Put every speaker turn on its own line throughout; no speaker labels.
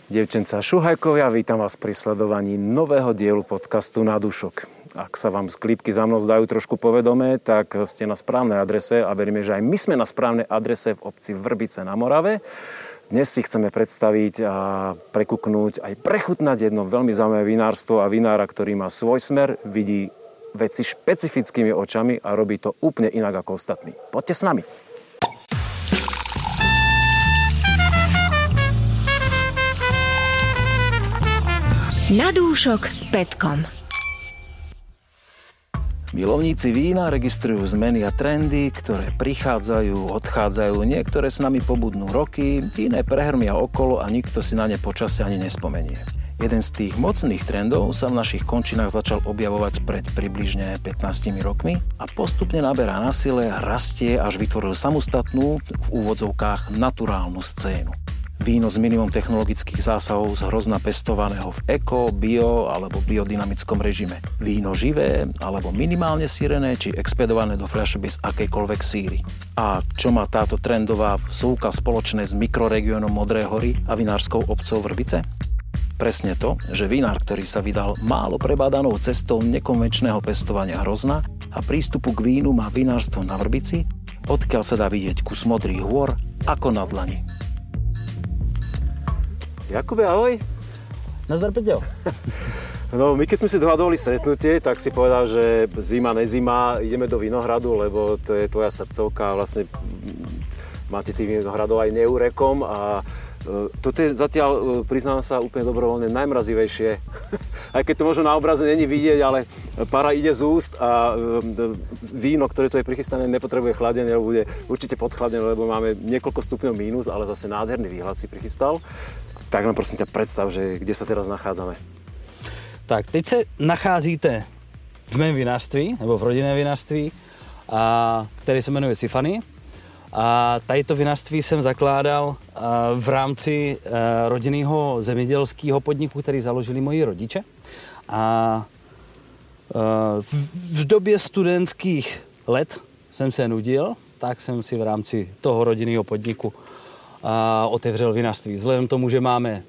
Dievčencá Šuhajkovia, vítam vás pri sledovaní nového dielu podcastu Na dušok. Ak sa vám sklípky za mnou zdajú trošku povedomé, tak ste na správnej adrese a veríme, že aj my sme na správnej adrese v obci Vrbice na Morave. Dnes si chceme predstaviť a prekuknúť, aj prechutnať jedno veľmi zaujímavé vinárstvo a vinára, ktorý má svoj smer, vidí veci špecifickými očami a robí to úplne inak ako ostatní. Poďte s nami.
Na dúšok s Petkom.
Milovníci vína registrujú zmeny a trendy, ktoré prichádzajú, odchádzajú, niektoré s nami pobudnú roky, iné prehrmia okolo a nikto si na ne počasie ani nespomenie. Jeden z tých mocných trendov sa v našich končinách začal objavovať pred približne 15 rokmi a postupne naberá na sile, rastie, až vytvoril samostatnú, v úvodzovkách, naturálnu scénu. Víno s minimum technologických zásahov z hrozna pestovaného v eko, bio alebo biodynamickom režime. Víno živé alebo minimálne sírené či expedované do fľaše bez akejkoľvek síry. A čo má táto trendová vsúka spoločné s mikroregiónom Modré hory a vinárskou obcou Vrbice? Presne to, že vinár, ktorý sa vydal málo prebádanou cestou nekonvenčného pestovania hrozna a prístupu k vínu má vinárstvo na Vrbici, odkiaľ sa dá vidieť kus modrých hôr ako na dlani. Jakube, ahoj.
Nazdar, Peťo.
No, my keď sme si dohadovali stretnutie, tak si povedal, že zima, nezima, ideme do Vinohradu, lebo to je tvoja srdcovka. Vlastne máte tých vinohradov aj neurekom a toto je zatiaľ, priznám sa úplne dobrovoľne, najmrazivejšie. Aj keď to možno na obraze není vidieť, ale para ide z úst a víno, ktoré tu je prichystané, nepotrebuje chladenie, bude určite podchladené, lebo máme niekoľko stupňov mínus, ale zase nádherný výhľad si prichystal. Tak nám prosím ťa predstav, že kde sa teraz nachádzame.
Tak, teď se nacházíte v mém vinařství, nebo v rodinném vinařství, které se jmenuje Sifany. A tady to vinařství jsem zakládal v rámci rodinného zemědělského podniku, který založili moji rodiče. A v době studentských let jsem se nudil, tak jsem si v rámci toho rodinného podniku otevřel vinařství. Vzhledem k tomu, že máme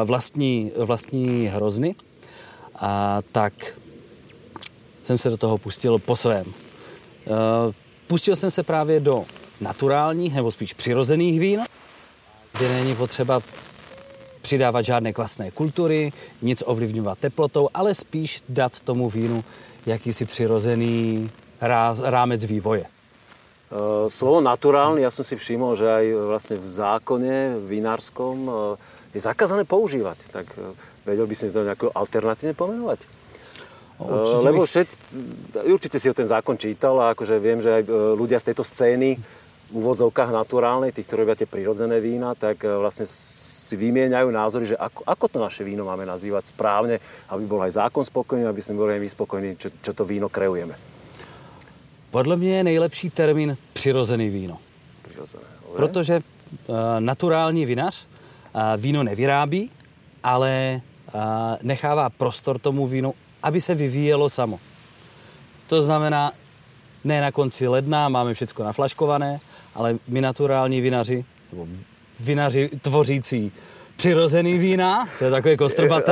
vlastní hrozny, tak jsem se do toho pustil po svém. Pustil jsem se právě do naturálních, nebo spíš přirozených vín, kde není potřeba přidávat žádné kvasné kultury, nic ovlivňovat teplotou, ale spíš dát tomu vínu jakýsi přirozený rámec vývoje.
Slovo naturálny, ja som si všimol, že aj vlastne v zákone vinárskom je zakázané používať. Tak vedel by si to nejako alternatívne pomenovať? Lebo určite si ho ten zákon čítal a akože viem, že aj ľudia z tejto scény v úvodzovkách naturálnej, tí, ktorí robia tie prirodzené vína, tak vlastne si vymieňajú názory, že ako to naše víno máme nazývať správne, aby bol aj zákon spokojný, aby sme boli aj my spokojní, čo to víno kreujeme.
Podle mě je nejlepší termín přirozený víno. Protože naturální vinař víno nevyrábí, ale nechává prostor tomu vínu, aby se vyvíjelo samo. To znamená, ne na konci ledna máme všechno naflaškované, ale my naturální vinaři, nebo vinaři tvořící přirozený vína, to je takové kostrbaté,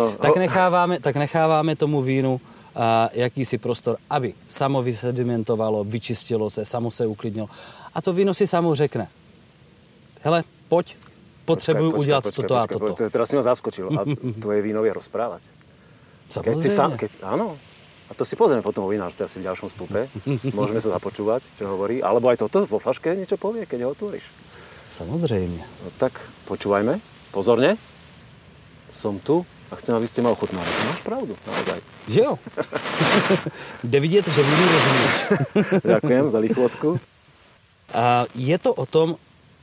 tak necháváme tomu vínu jakýsi prostor, aby samo vysedimentovalo, vyčistilo se, samo se uklidnilo. A to víno si samo řekne. Hele, poď, potřebuju udělat toto a toto.
Teraz si ma zaskočil. A tvoje víno vie rozprávať?
Samozrejme.
Áno. A to si pozrieme potom o vinárstve asi v ďalšom stupe. Môžeme sa započúvať, čo hovorí. Alebo aj toto vo fľaške niečo povie, keď ho otvoríš.
Samozrejme.
No tak počúvajme. Pozorne. Som tu. A chcem, aby ste ma ochutnali. Máš pravdu, naozaj.
Že jo? Jde vidět, že vínu rozumíš.
Ďakujem za lichvotku.
Je to o tom,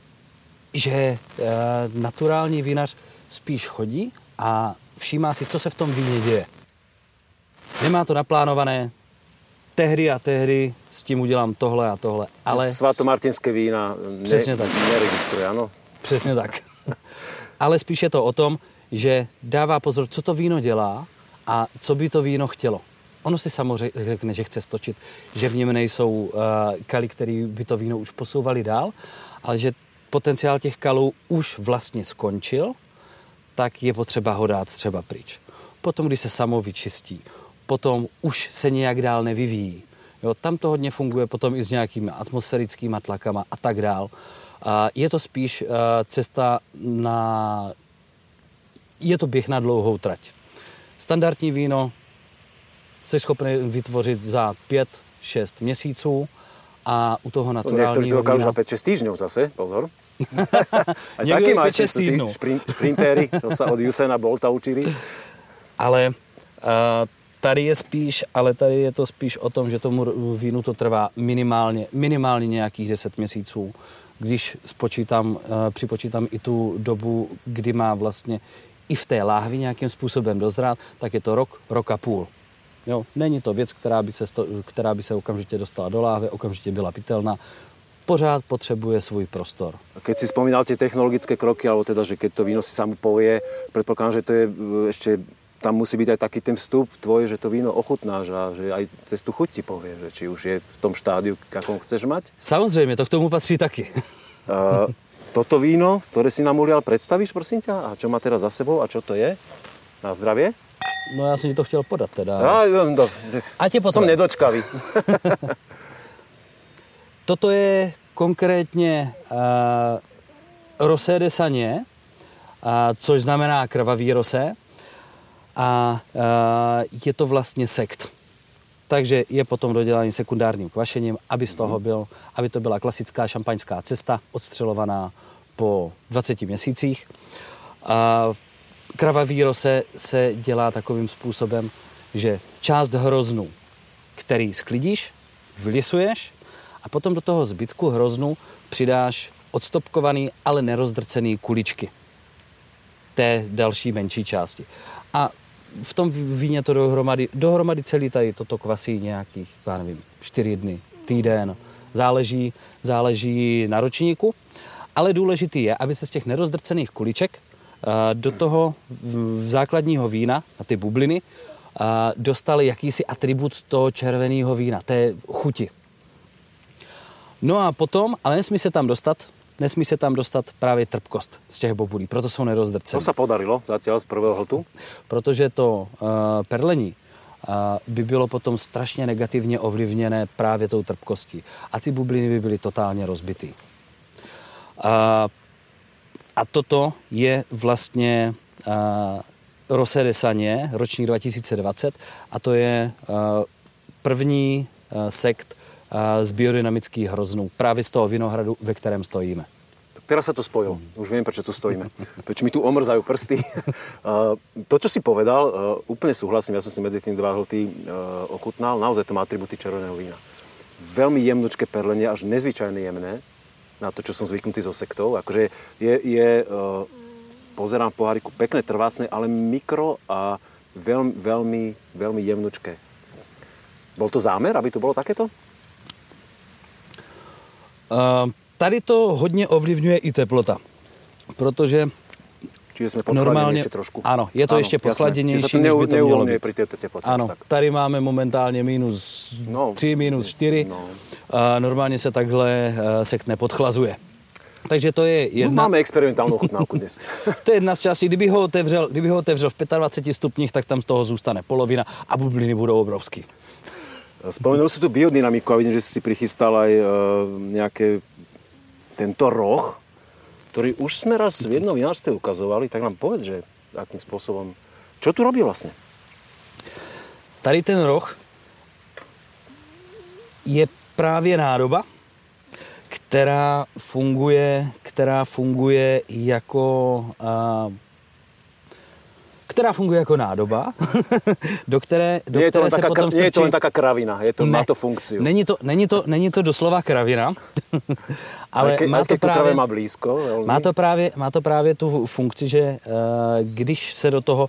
že naturální vinař spíš chodí a všímá si, co se v tom víně děje. Nemá to naplánované, tehdy a tehdy s tím udělám tohle a tohle. Ale
svatomartinské vína neregistruje, ano?
Přesně tak. Ale spíš je to o tom, že dává pozor, co to víno dělá a co by to víno chtělo. Ono si samozřejmě řekne, že chce stočit, že v něm nejsou kaly, které by to víno už posouvali dál, ale že potenciál těch kalů už vlastně skončil, tak je potřeba ho dát třeba pryč. Potom, když se samo vyčistí, potom už se nějak dál nevyvíjí. Jo, tam to hodně funguje potom i s nějakými atmosférickými tlakama a tak dál. Je to spíš cesta na... Je to běh na dlouhou trať. Standardní víno jsi schopný vytvořit za 5-6 měsíců a u toho naturálního vína...
Niektorí to dokážu za 5-6 týždňov zase, pozor. Aj
Niekto
takí
je
majstri
5-6
sú tí
týdnov.
šprintéri, čo sa od Usaina Bolta učili.
Ale tady je to spíš o tom, že tomu vínu to trvá minimálně nějakých 10 měsíců. Když připočítám i tu dobu, kdy má vlastně i v té láhvi nějakým způsobem dozrát, tak je to rok a půl. Jo, není to věc, která by se okamžitě dostala do láhve, okamžitě byla pitelná. Pořád potřebuje svůj prostor.
Keď si spomínal tie technologické kroky, alebo teda, že keď to víno si samo povie, predpokladám, že to je ešte, tam musí byť aj taký ten vstup tvoj, že to víno ochutnáš a že aj cez tú chuť ti povie, že či už je v tom štádiu, akom chceš mať.
Samozřejmě, to k tomu patří taky.
Toto víno, ktoré si nám ulial, predstavíš, prosím ťa? A čo má teraz za sebou a čo to je? Na zdravie?
No já jsem ti to chtěl podat teda.
A tě potom. Som nedočkavý.
Toto je konkrétně Rosé de Sagné, což znamená krvavý rosé. A je to vlastně sekt. Takže je potom dodělaný sekundárním kvašením, aby to byla klasická šampaňská cesta, odstřelovaná po 20 měsících. Krvavý rosé se dělá takovým způsobem, že část hroznu, který sklidíš, vylisuješ a potom do toho zbytku hroznu přidáš odstopkovaný, ale nerozdrcený kuličky té další menší části. A v tom víně to dohromady celý tady toto kvasí nějakých, já nevím, 4 dny, týden, záleží na ročníku, ale důležitý je, aby se z těch nerozdrcených kuliček do toho základního vína, na ty bubliny, dostali jakýsi atribut toho červeného vína, té chuti. No a potom, ale nesmí se tam dostat právě trpkost z těch bobulí, proto jsou nerozdrcené.
To se podarilo zatiaľ z prvého hltu?
Protože to perlení by bylo potom strašně negativně ovlivněné právě tou trpkostí. A ty bubliny by byly totálně rozbitý. A toto je vlastně Rosé de Sagné, ročník 2020, a to je první sekt z biodynamických hroznů, právě z toho vinohradu, ve kterém stojíme.
Tak teraz sa to spojilo. Už viem, prečo tu stojíme. Prečo mi tu omrzajú prsty. To, čo si povedal, úplne súhlasím. Ja som si medzi tým 2 hlty ochutnal. Naozaj to má atributy červeného vína. Veľmi jemnučké perlenie, až nezvyčajne jemné na to, čo som zvyknutý zo sektov. Akože pozerám v poháriku pekné, trvácne, ale mikro a veľmi jemnučké. Bol to zámer, aby to bolo takéto?
Tady to hodně ovlivňuje i teplota, protože
čiže jsme podchladěni ještě trošku.
Ano, je to ještě podchladěnější, než by to mělo být.
Pri této teplotě.
Ano, tady máme momentálně -3, -4. No. Normálně se takhle sekt nepodchlazuje. Takže to je jedna...
No, máme experimentálnu ochutnávku dnes.
To je jedna z částí. Kdyby ho otevřel v 25 stupních, tak tam z toho zůstane polovina a bubliny budou obrovský.
Spomenul si tu biodynamiku a vidím, že si prichystal aj nejaké tento roh, ktorý už sme raz v jednom vinárstve ukazovali, tak nám povedz, že akým spôsobom, čo tu robí vlastne?
Tady ten roh je právě nádoba, která funguje jako nádoba, do které se potom strčí...
Nie je to len taká kravina, má to funkciu.
Není to doslova kravina, ale
má blízko.
Má to právě tu funkci, že když se do toho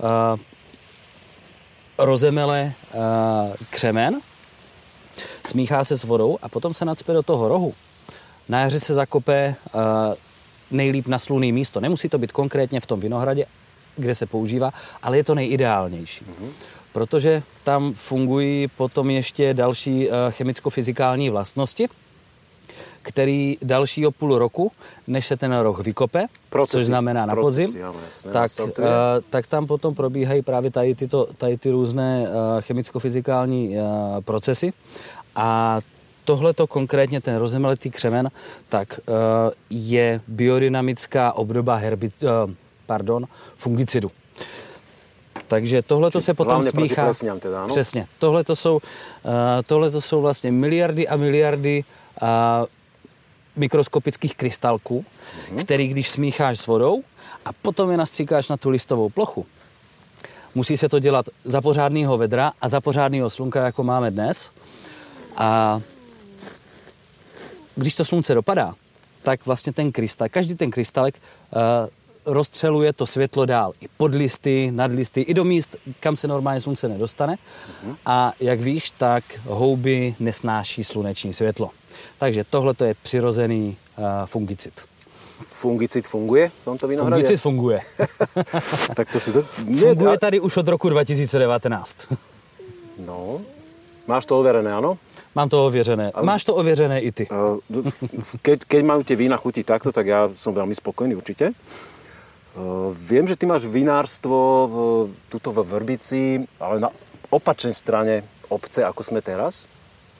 rozemele křemen, smíchá se s vodou a potom se nacpe do toho rohu. Na jaře se zakope nejlíp na slunné místo. Nemusí to být konkrétně v tom vinohradě, kde se používá, ale je to nejideálnější. Protože tam fungují potom ještě další chemicko-fyzikální vlastnosti, který dalšího půl roku, než se ten roh vykope, což znamená na podzim, tak tam potom probíhají právě tady ty různé chemicko-fyzikální procesy. A tohleto konkrétně, ten rozemeletý křemen, tak je biodynamická obdoba fungicidu. Takže tohleto se potom smíchá.
Teda, no?
Přesně. Tohleto jsou vlastně miliardy a miliardy mikroskopických krystalků, který když smícháš s vodou a potom je nastříkáš na tu listovou plochu. Musí se to dělat za pořádného vedra a za pořádného slunka, jako máme dnes. A když to slunce dopadá, tak vlastně každý ten krystalek rozstřeluje to světlo dál. I pod listy, nad listy, i do míst, kam se normálně slunce nedostane. A jak víš, tak houby nesnáší sluneční světlo. Takže tohle to je přirozený fungicid.
Fungicid funguje v tomto vinohradě?
Fungicid funguje.
Tak to si to...
Funguje tady už od roku 2019.
No, máš to overené, áno?
Mám to ověřené. Máš to ověřené i ty.
Keď majú tie vína chutiť takto, tak ja som veľmi spokojný určite. Viem, že ty máš vinárstvo tuto v Vrbici, ale na opačnej strane obce, ako sme teraz.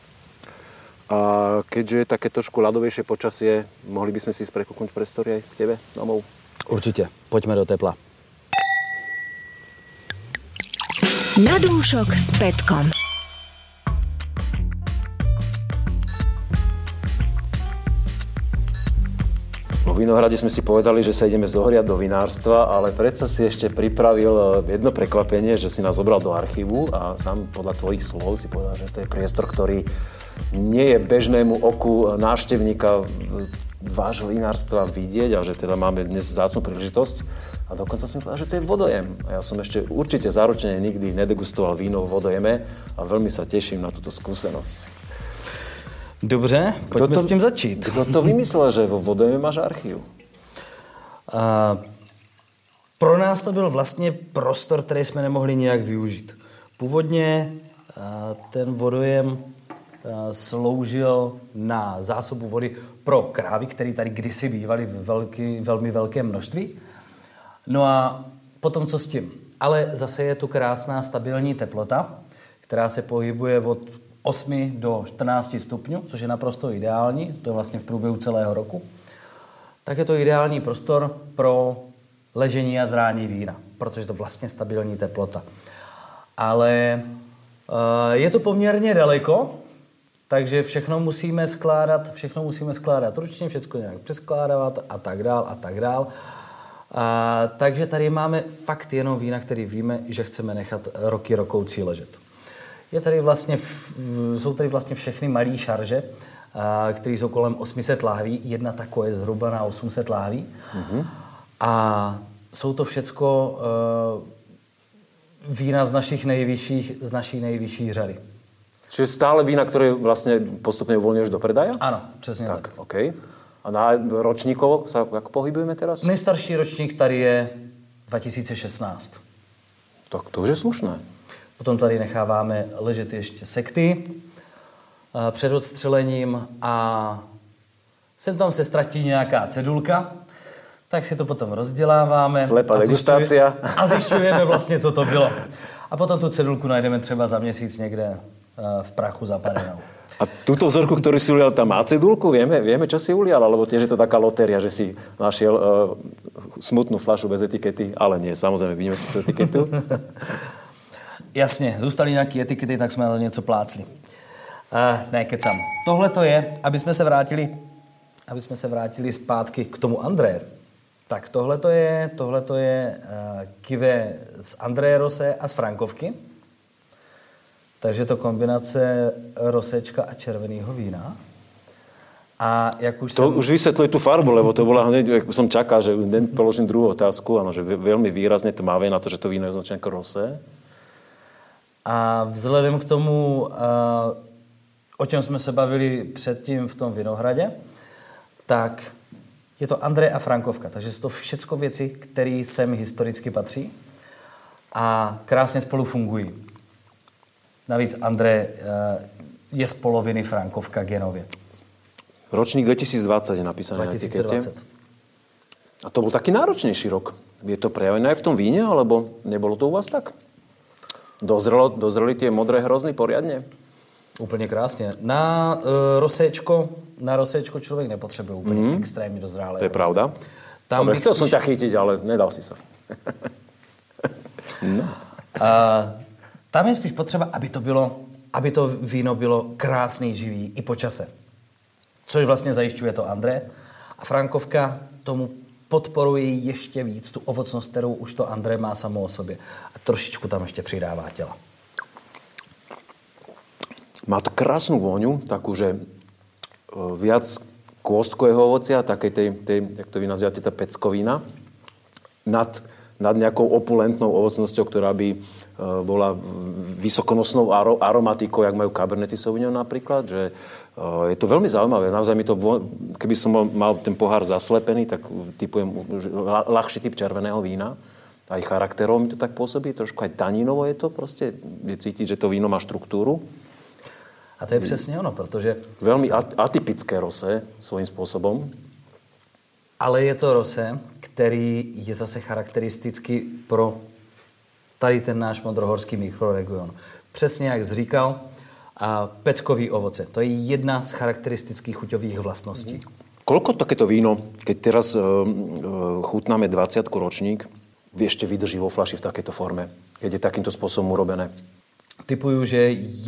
A keďže je také trošku ľadovejšie počasie, mohli by sme si prekúknuť priestory aj k tebe domov?
Určite. Poďme do tepla.
Na dúšok s Petkom.
Po vinohrade sme si povedali, že sa ideme zohriať do vinárstva, ale predsa si ešte pripravil jedno prekvapenie, že si nás zobral do archívu a sám podľa tvojich slov si povedal, že to je priestor, ktorý nie je bežnému oku návštevníka vášho vinárstva vidieť a že teda máme dnes vzácnu príležitosť. A dokonca som povedal, že to je vodojem. A ja som ešte určite záročne nikdy nedegustoval víno v vodojeme a veľmi sa teším na túto skúsenosť.
Dobře, pojďme s tím začít.
Kdo to vymyslel, že vo vodojeme máš archiv?
Pro nás to byl vlastně prostor, který jsme nemohli nějak využít. Původně ten vodojem sloužil na zásobu vody pro krávy, které tady kdysi bývaly velmi velké množství. No a potom co s tím? Ale zase je tu krásná stabilní teplota, která se pohybuje od 8 do 14 stupňů, což je naprosto ideální, to je vlastně v průběhu celého roku. Tak je to ideální prostor pro ležení a zrání vína, protože je to vlastně stabilní teplota. Ale je to poměrně daleko, takže všechno musíme skládat ručně, všechno nějak přeskládávat a tak dál. Takže tady máme fakt jenom vína, který víme, že chceme nechat roky rokoucí ležet. Jsou tady vlastně všechny malé šarže, které jsou kolem 800 láhví. Jedna taková je zhruba na 800 láhví. A jsou to všecko vína z naší nejvyšší řady.
Čiže stále vína, ktoré vlastne postupne uvoľňuješ do predaja?
Áno, přesně tak.
OK. A na ročníkovo sa ako pohybujeme teraz?
Nejstarší ročník tady je 2016.
Tak to už je slušné.
Potom tady necháváme ležet ještě sekty před odstřelením a sem tam se ztratí nějaká cedulka, tak si to potom rozděláváme.
Slepá degustácia.
A zjišťujeme vlastně, co to bylo. A potom tu cedulku najdeme třeba za měsíc někde v prachu zapadenou.
A túto vzorku, ktorú si ulial, tam má cedulku? Vieme, čo si ulial? Alebo tiež je to taká lotéria, že si našiel smutnú fľašu bez etikety? Ale nie, samozrejme, vidíme si tú etiketu.
Jasně, zůstaly nějaké etikety, tak jsme na to něco plácli. Ne, kecam. Tohle to je, aby jsme se vrátili zpátky k tomu André. Tak tohle to je kive z André Rosé a z Frankovky. Takže to kombinace rosečka a červeného vína. A jak už
už vysvetľuje tú farbu, lebo to bola hneď, ako som čakal, že položím druhú otázku, áno, že veľmi výrazne tmavé na to, že to víno je označené ako rosé.
A vzhledem k tomu, o čem jsme se bavili předtím v tom vinohradě, tak je to André a Frankovka. Takže jsou to všecko věci, které sem historicky patří a krásně spolu fungují. Navíc André je z poloviny Frankovka genově.
Ročník 2020 je napísané 2020. Na etikete. A to bol taký náročnejší rok. Je to prejavené aj v tom víne, alebo nebolo to u vás tak? Dozreli tie modré hrozny poriadne?
Úplně krásně. Na roséčko člověk nepotřebuje úplně extrémně dozrálé.
To je pravda. Dobre, chcel som ťa chytiť, ale nedal si sa.
No. Tam je spíš potřeba, aby to víno bylo krásný, živý i po čase. Což vlastně zajišťuje to André. A Frankovka tomu podporuje ještě víc tu ovocnost, kterou už to André má samo o sobě. A trošičku tam ještě přidává těla.
Má to krásnu vôňu, takú, že viac kôstkového ovocia, takej tej, jak to vy nazývate, tá peckovina, nad nejakou opulentnou ovocnosťou, ktorá by bola vysokonosnou aromatikou, jak majú Cabernet Sauvignon napríklad, že je to veľmi zaujímavé. Naozaj mi to, keby som mal ten pohár zaslepený, tak typujem ľahší typ červeného vína. Aj charakterov mi to tak pôsobí, trošku aj tanínovo je to proste, je cítiť, že to víno má štruktúru.
A to je přesně ono, protože...
Velmi atypické rosé svým způsobem.
Ale je to rosé, který je zase charakteristický pro tady ten náš modrohorský mikroregion. Přesně jak jsi říkal, peckový ovoce. To je jedna z charakteristických chuťových vlastností.
Koľko takéto víno, keď teraz chutnáme 20 ročník, ešte vydrží vo flaši v takéto forme, keď je takýmto spôsobom urobené?
Typuju, že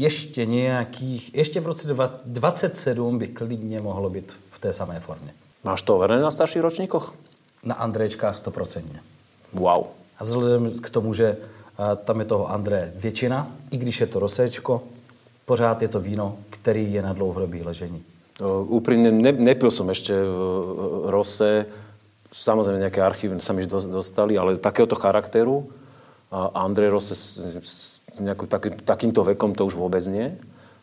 ještě v roce 27 by klidně mohlo být v té samé formě.
Máš to overené na starších ročníkoch?
Na Andréčkách 100%.
Wow.
A vzhledem k tomu, že tam je toho André většina, i když je to roséčko, pořád je to víno, který je na dlouhodobý ležení.
Úprimne, nepil som ešte rosé, samozrejme nejaké archívy sa mi dostali, ale takéhoto charakteru André Rosé takýmto vekom to už vôbec nie.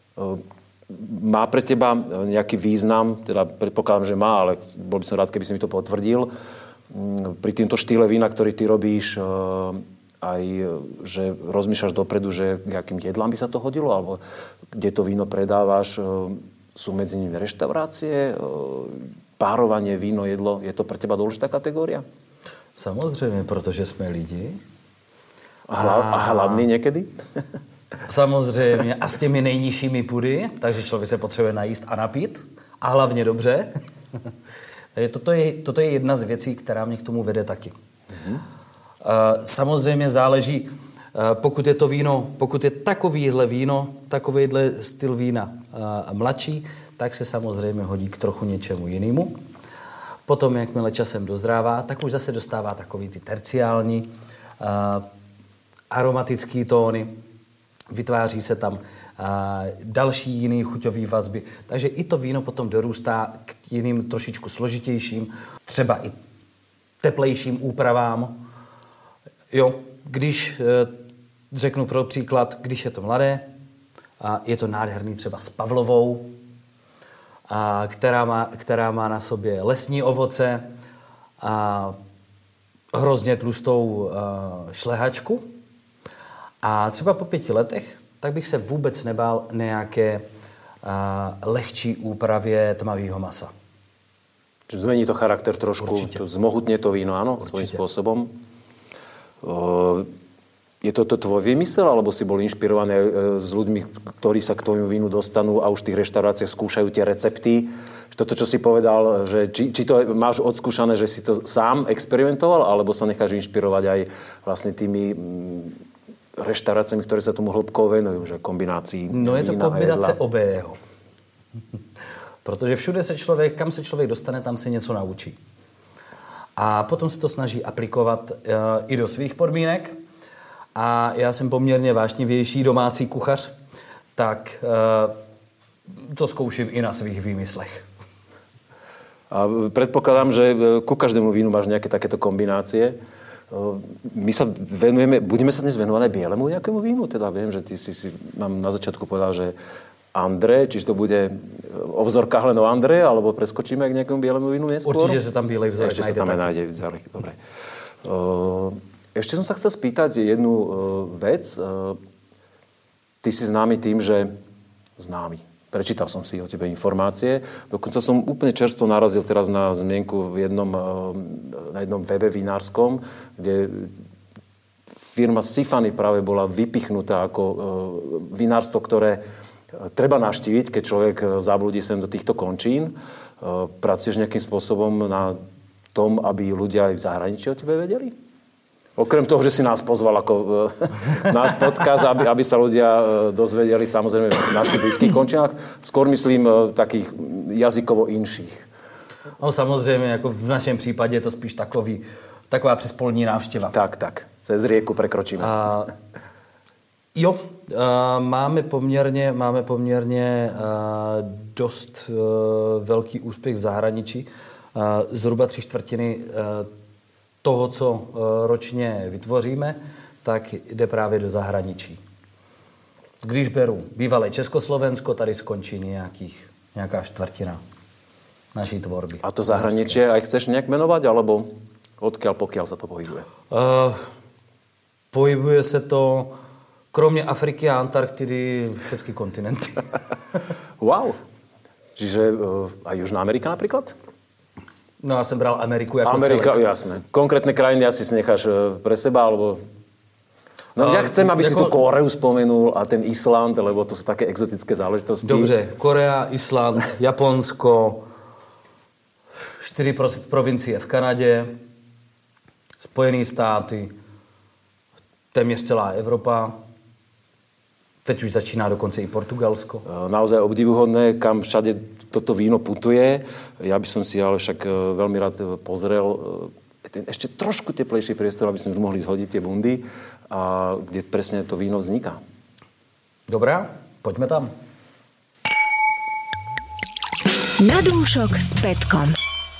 Má pre teba nejaký význam, teda predpokladám, že má, ale bol by som rád, keby si mi to potvrdil, pri týmto štýle vína, ktorý ty robíš, aj, že rozmýšľaš dopredu, že k akým jedlám by sa to hodilo, alebo kde to víno predávaš, sú medzi nimi reštaurácie, párovanie, víno, jedlo, je to pre teba dôležitá kategória?
Samozřejmě, protože jsme lidi.
A hladný někdy?
Samozřejmě. A s těmi nejnižšími pudy, takže člověk se potřebuje najíst a napít. A hlavně dobře. Takže toto je jedna z věcí, která mě k tomu vede taky. Samozřejmě záleží, pokud je to víno, pokud je takovýhle víno, takovýhle styl vína mladší, tak se samozřejmě hodí k trochu něčemu jinému. Potom, jakmile časem dozrává, tak už zase dostává takový ty terciální aromatické tóny, vytváří se tam další jiný chuťový vazby. Takže i to víno potom dorůstá k jiným trošičku složitějším, třeba i teplejším úpravám. Jo, když řeknu pro příklad, když je to mladé, je to nádherný třeba s pavlovou, která má na sobě lesní ovoce a hrozně tlustou šlehačku. A třeba po 5 letech, tak bych se vůbec nebál nějaké lehčí úpravě tmavého masa.
Zmení to charakter trošku, zmohutne to víno, áno, svojím spôsobom. Je to tvoj vymysel, alebo si bol inšpirovaný s ľuďmi, ktorí sa k tvojmu vínu dostanú a už v tých reštauráciách skúšajú tie recepty? Toto, čo si povedal, že či to máš odskúšané, že si to sám experimentoval, alebo sa necháš inšpirovať aj vlastne tými reštauráciami, ktoré sa tomu hĺbkovo venujú, že kombinácií
no je to kombinace obého. Protože všude kam se člověk dostane, tam se něco naučí. A potom se to snaží aplikovat i do svých podmínek. A já jsem poměrně vášnivější domácí kuchař, tak to zkouším i na svých výmyslech.
A predpokladám, že ku každému vínu máš nejaké takéto kombinácie. My sa budeme sa dnes venovať aj bielemu nejakému vínu? Teda viem, že ty si nám na začiatku povedal, že André, čiže to bude o vzorkách len o André, alebo preskočíme k nejakému bielemu vínu neskôr?
Určite sa tam bielej vzorek
nájde. Ešte sa tam nájde vzorek, dobre. Ešte som sa chcel spýtať jednu vec. Ty si známy tým, že Prečítal som si o tebe informácie. Dokonca som úplne čerstvo narazil teraz na zmienku na jednom webe vinárskom, kde firma Sifany práve bola vypichnutá ako vinárstvo, ktoré treba navštíviť, keď človek zablúdi sem do týchto končín. Pracuješ nejakým spôsobom na tom, aby ľudia aj v zahraničí o tebe vedeli? Okrem toho, že si nás pozval ako náš podcast, aby sa ľudia dozvedeli samozrejme v našich blízkych končinách. Skôr myslím takých jazykovo inších.
No samozřejmě, jako v našem případě je to spíš taková přespolní návštěva.
Tak. Cez rieku prekročíme.
Máme poměrně dost velký úspěch v zahraničí. Zhruba 3/4 toho, co ročně vytvoříme, tak jde právě do zahraničí. Když beru bývalé Československo, tady skončí nějaká 1/4 naší tvorby.
A to zahraničí aj chceš nějak jmenovat, alebo odkiaľ pokiaľ sa to pohybuje?
Pohybuje se to kromě Afriky a Antarktidy všechny kontinenty.
Wow. Čiže aj Južná Amerika napríklad?
No, já jsem bral Ameriku jako
Amerika,
celek.
jasné. Konkrétne krajiny asi si necháš pre seba, alebo... No ja chcem, aby si tu Koreu spomenul a ten Island, lebo to sú také exotické záležitosti.
Dobře, Korea, Island, Japonsko, 4 provincie v Kanadě, Spojené státy, téměř celá Evropa. Teď už začíná dokonce i Portugalsko.
Naozaj obdivuhodné, kam všade toto víno putuje. Ja by som si ale však veľmi rád pozrel ten ešte trošku teplejší priestor, aby sme už mohli zhodiť tie bundy, a kde presne to víno vzniká.
Dobrá, poďme tam. Na dúšok s Petkom.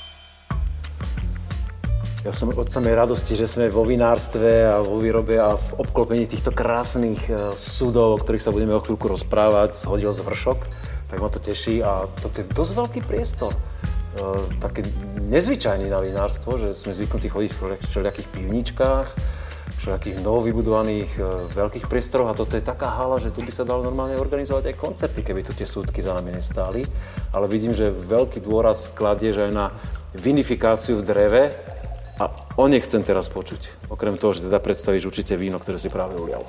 Ja som od samej radosti, že sme vo vinárstve a vo výrobe a v obklopení týchto krásnych sudov, o ktorých sa budeme o chvíľku rozprávať, zhodil z vršok, tak ma to teší a toto je dosť veľký priestor. Také nezvyčajný na vinárstvo, že sme zvyknutí chodiť v všelijakých pivničkách, všelijakých novovybudovaných veľkých priestoroch a toto je taká hala, že tu by sa dalo normálne organizovať aj koncerty, keby tu tie súdky za nami nestáli. Ale vidím, že veľký dôraz kladieš aj na vinifikáciu v dreve. A o nej chcem teraz počuť. Okrem toho, že teda predstavíš určitě víno, které si právě ulial.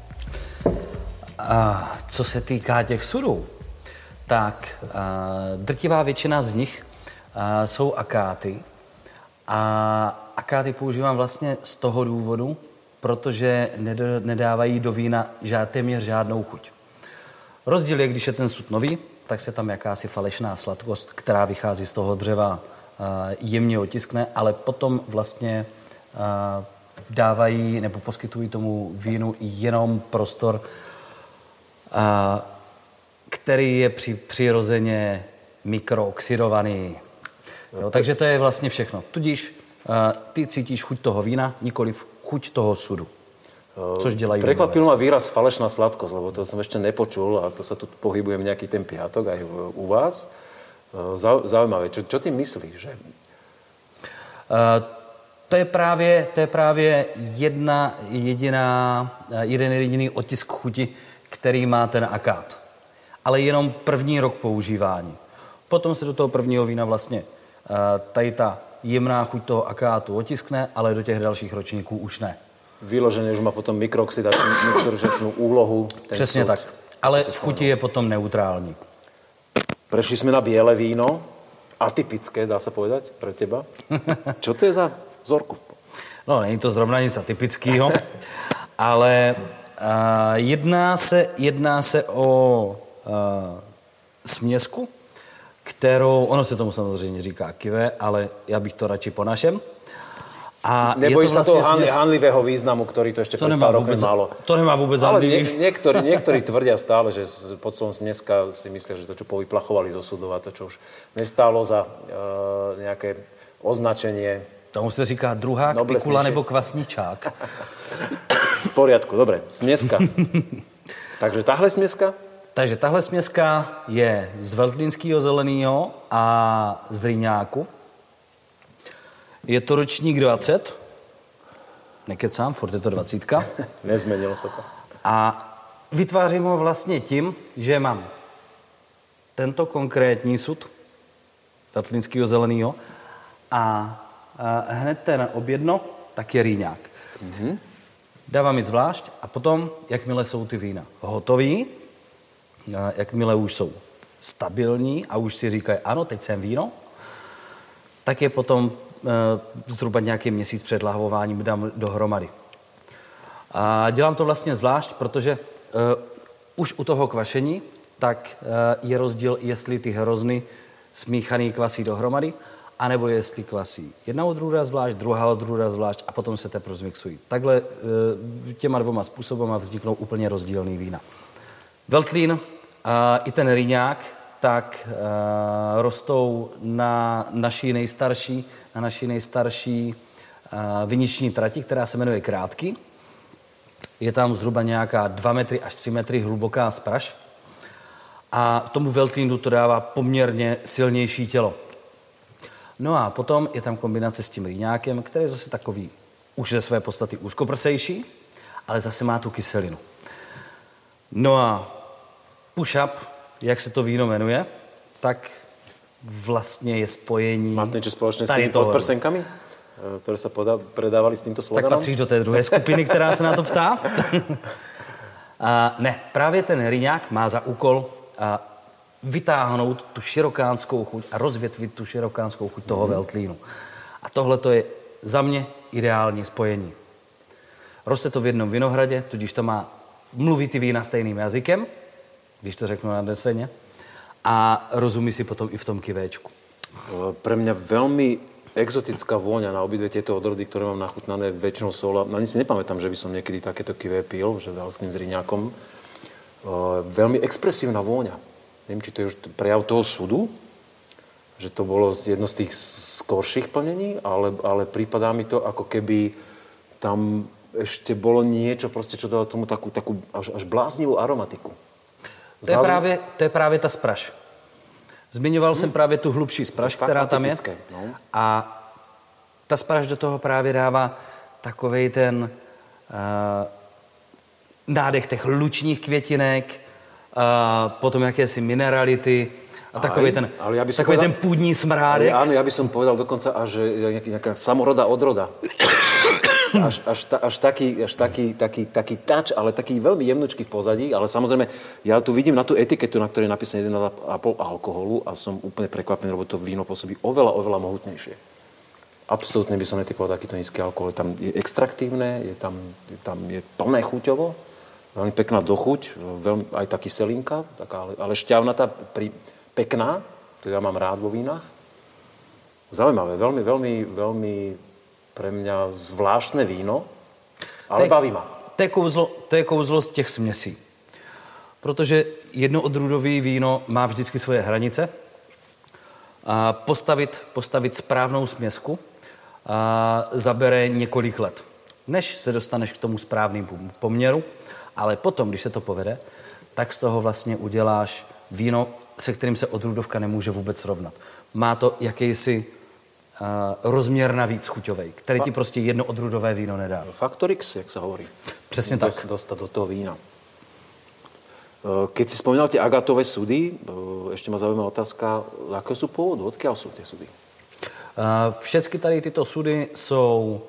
Co se týká těch sudů, tak drtivá většina z nich jsou akáty. A akáty používám vlastně z toho důvodu, protože nedávají do vína téměř žádnou chuť. Rozdíl je, když je ten sud nový, tak se tam jakási falešná sladkost, která vychází z toho dřeva, jemně otiskne, ale potom vlastně dávají nebo poskytují tomu vínu jenom prostor, který je přirozeně mikrooxidovaný. Jo, takže to je vlastně všechno. Tudíž ty cítíš chuť toho vína, nikoliv chuť toho sudu. Což dělají.
Prekvapil ma výraz falešná sladkosť, lebo to som ešte nepočul a to sa tu pohybujeme nejaký ten piatok aj u vás. Zaujímavé. Čo ty myslíš? Že?
To je právě jeden jediný otisk chuti, který má ten akát. Ale jenom první rok používání. Potom se do toho prvního vína vlastně tady ta jemná chuť toho akátu otiskne, ale do těch dalších ročníků už ne.
Vyloženě už má potom mikrooxidačnú úlohu.
Přesně tak. Ale v chuti je potom neutrální.
Prešli sme na biele víno, atypické, dá sa povedať, pre teba. Čo to je za vzorku?
No, není to zrovna nic atypického, ale jedná se o směsku, kterou, ono se tomu samozřejmě říká kive, ale já bych to radši po našem. A
nebojí sa toho hanlivého významu, ktorý to ešte pred pár rokmi malo.
To nemá vôbec hanlivý.
Ale niektorí tvrdia stále, že pod slovom smeska si myslia, že to, čo povyplachovali zo sudov a to, čo už nestálo za nejaké označenie.
Tomu se říká druhák, pikula nebo kvasničák.
V poriadku, dobre. Smeska. Takže tahle smeska?
Takže tahle smeska je z veltlínského zeleného a z rýňáku. Je to ročník 20. Nekecám, furt je to 20.
Nezmenilo se to.
A vytvářím ho vlastně tím, že mám tento konkrétní sud veltlínského zeleného a hned ten objedno, tak je rýňák. Dávám jít zvlášť a potom, jakmile jsou ty vína hotový, jakmile už jsou stabilní a už si říkají, ano, teď jsem víno, tak je potom zhruba nějaký měsíc před lahvováním dám dohromady. A dělám to vlastně zvlášť, protože už u toho kvašení tak je rozdíl, jestli ty hrozny smíchaný kvasí dohromady, anebo jestli kvasí jedna odrůda zvlášť, druhá odrůda zvlášť a potom se teprve zmixují. Takhle těma dvoma způsobama vzniknou úplně rozdílný vína. Veltlín i ten rýňák tak rostou na naší nejstarší viniční trati, která se jmenuje Krátky. Je tam zhruba nějaká 2 metry až 3 metry hluboká spraš a tomu veltlínu to dává poměrně silnější tělo. No a potom je tam kombinace s tím rýňákem, který je zase takový už ze své podstaty úzkoprsejší, ale zase má tu kyselinu. No a push-up, jak se to víno jmenuje, tak vlastně je spojení...
Máte niečo spoločné s tými podprsenkami, ktoré sa predávali s týmto sloganom?
Tak patříš do té druhé skupiny, která se na to ptá. Ne, právě ten rýňák má za úkol vytáhnout tu širokánskou chuť a rozvětvit tu širokánskou chuť toho veltlínu. A tohle to je za mě ideální spojení. Roste to v jednom vinohradě, tudíž to má mluví ty vína stejným jazykem, když to řeknu na deseně, a rozumí si potom i v tom kivéčku.
Pre mňa veľmi exotická vôňa na obidve tieto odrody, ktoré mám nachutnané väčšinou sola. Na nic si nepamätám, že by som niekedy takéto kivé pil, že veľkým s rýňakom. Veľmi expresívna vôňa. Neviem, či to je už prejav toho sudu, že to bolo jedno z tých skorších plnení, ale prípadá mi to, ako keby tam ešte bolo niečo, proste, čo dalo tomu takú až bláznivú aromatiku.
To je právě ta spraš. Zmiňoval jsem právě tu hlubší spraš, která tam je. No. A ta spraš do toho právě dává takovej ten nádech těch lučních květinek, potom jakési minerality a takový ten půdní smrádek.
Áno, ja by som povedal dokonca až nejaká samoroda odroda. Až taký touch, ale taký veľmi jemnučký v pozadí, ale samozrejme, ja tu vidím na tú etiketu, na ktorej je napísané 1,5 alkoholu a som úplne prekvapený, lebo to víno pôsobí oveľa mohutnejšie. Absolútne by som netypoval takýto nízky alkohol. Tam je extraktívne, je plné chuťovo, veľmi pekná dochuť, aj tá kyselinka, ale šťavnatá, pekná, to ja mám rád vo vínach. Zaujímavé, veľmi pre mňa zvláštne víno, ale baví ma.
To je kouzlo z těch směsí. Protože jednoodrůdové víno má vždycky svoje hranice. A postavit správnou směsku zabere několik let, než se dostaneš k tomu správnému poměru, ale potom, když se to povede, tak z toho vlastně uděláš víno, se kterým se odrůdovka nemůže vůbec srovnat. Má to jakýsi rozměr navíc chuťovej, který ti prostě jedno odrůdové víno nedá.
Faktor X, jak sa hovorí.
Přesně tak.
Dostať do toho vína. Keď si spomínal tie agátové sudy, ešte ma zaujímavá otázka, aké sú pôvodu, odkiaľ sú tie sudy?
Všechny tady tyto sudy jsou...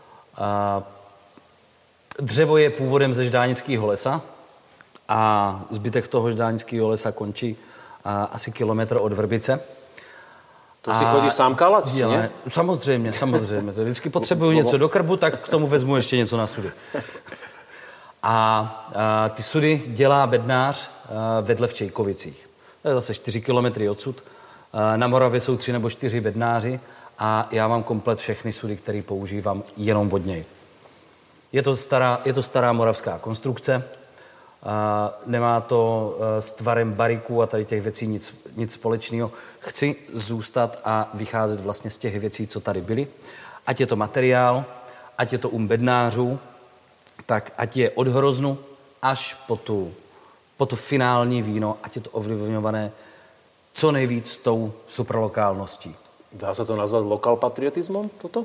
Dřevo je původem ze ždánického lesa a zbytek toho ždánického lesa končí asi kilometr od Vrbice.
To si chodíš sám kalať, či nie?
Samozřejmě. To vždycky potřebuju něco do krbu, tak k tomu vezmu ještě něco na sudy. A ty sudy dělá bednář vedle v Čejkovicích. To je zase 4 kilometry odsud. Na Moravě jsou 3 nebo 4 bednáři a já mám komplet všechny sudy, které používám jenom od něj. Je to stará moravská konstrukce. Nemá to s tvarem bariků a tady těch věcí nic společného. Chci zůstat a vycházet vlastně z těch věcí, co tady byly. Ať je to materiál, ať je to bednářů, tak ať je od hroznu až po to finální víno, ať je to ovlivňované co nejvíc tou supralokálností.
Dá se to nazvat lokal patriotismem, toto?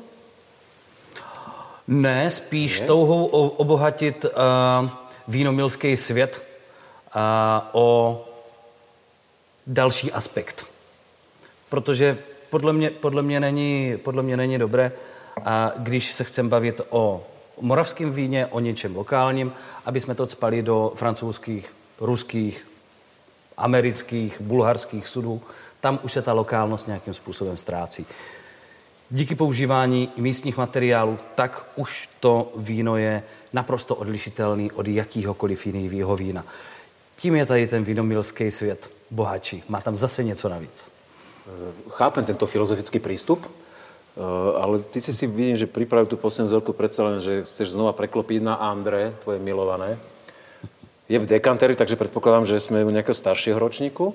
Ne, spíš touhou obohatit vínomilský svět o další aspekt. Protože podle mě není dobré, a když se chceme bavit o moravském víně, o něčem lokálním, aby jsme to cpali do francouzských, ruských, amerických, bulharských sudů. Tam už se ta lokálnost nějakým způsobem ztrácí. Díky používání místních materiálů, tak už to víno je naprosto odlišitelný od jakýhokoliv jiného vína. Tím je tady ten vínomilský svět bohatší. Má tam zase něco navíc.
Chápem tento filozofický prístup, ale ty si vidím, že pripravil tú poslednú vzorku predsa len, že chceš znova preklopiť na André, tvoje milované. Je v dekanteri, takže predpokladám, že sme u nejakého staršieho ročníku.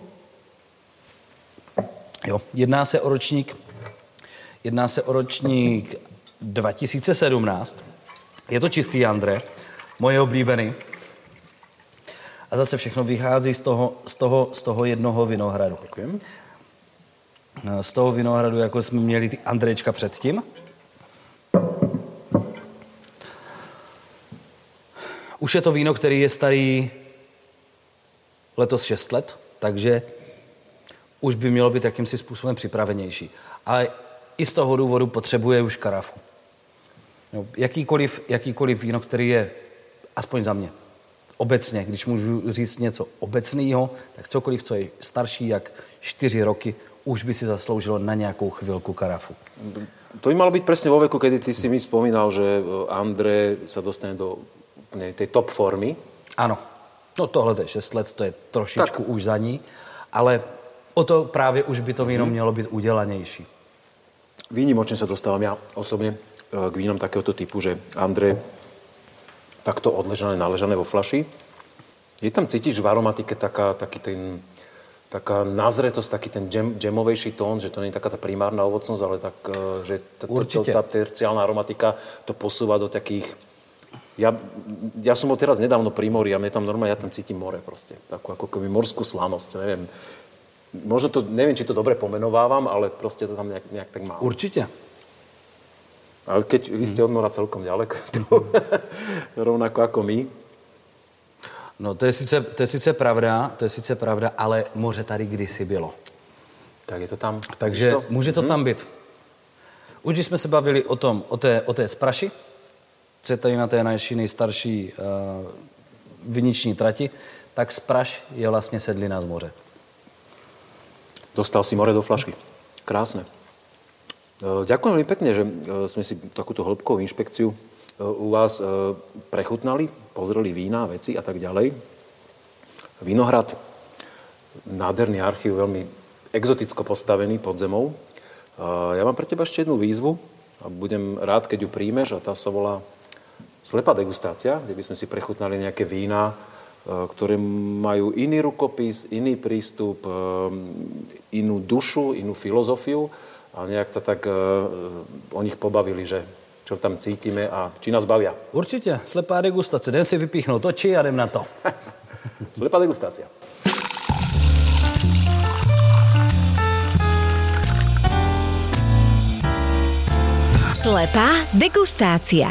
Jo, jedná se o ročník 2017. Je to čistý André, moje oblíbený. A zase všechno vychází z toho jednoho vinohradu.
Děkujem.
Z toho vinohradu, jako jsme měli ty Andrečka předtím. Už je to víno, který je starý letos 6 let, takže už by mělo být jakýmsi způsobem připravenější. Ale i z toho důvodu potřebuje už karafu. No, jakýkoliv víno, který je, aspoň za mě, obecně, když můžu říct něco obecného, tak cokoliv, co je starší jak 4 roky, už by si zasloužilo na nějakou chvilku karafu.
To by malo byť presne vo veku, kedy ty si mi spomínal, že André sa dostane do tej top formy.
Ano. No tohle je 6 let, to je trošičku už za ní, ale o to právě už by to víno mělo být udělanější.
Výnimočne sa dostávam ja osobne k vínom takéhoto typu, že André takto odležané, naležané vo fľaši. Je tam cítiť v aromatike taká nazretosť, taký ten džemovejší tón, že to nie je taká tá primárna ovocnosť, ale tak, že tá terciálna aromatika to posúva do takých... Ja som bol teraz nedávno pri mori a ja tam cítim more proste. Takú ako keby morskú slanosť, neviem. Možno to, neviem, či to dobre pomenovávam, ale proste to tam nejak tak mám.
Určite.
Ale keď vy ste od mora celkom ďaleko, rovnako ako my.
No to je sice pravda, ale moře tady kdysi bylo.
Tak je to tam.
Takže může to tam být. Už když jsme se bavili o té spraši, co je tady na té naší nejstarší viniční trati, tak spraš je vlastně sedlina z moře.
Dostal si more do flašky. Krásne. Ďakujem veľmi pekne, že sme si takúto hĺbkovú inšpekciu u vás prechutnali, pozreli vína, veci a tak ďalej. Vinohrad, nádherný archív, veľmi exoticko postavený pod zemou. Ja mám pre teba ešte jednu výzvu a budem rád, keď ju príjmeš, a tá sa volá slepá degustácia, kde by sme si prechutnali nejaké vína, ktoré majú iný rukopis, iný prístup, inú dušu, inú filozofiu a nejak sa tak o nich pobavili, že čo tam cítime a či nás bavia.
Určitě, slepá degustace. Jdem si vypíchnout oči a jdem na to.
Slepá degustácia.
Slepá degustácia.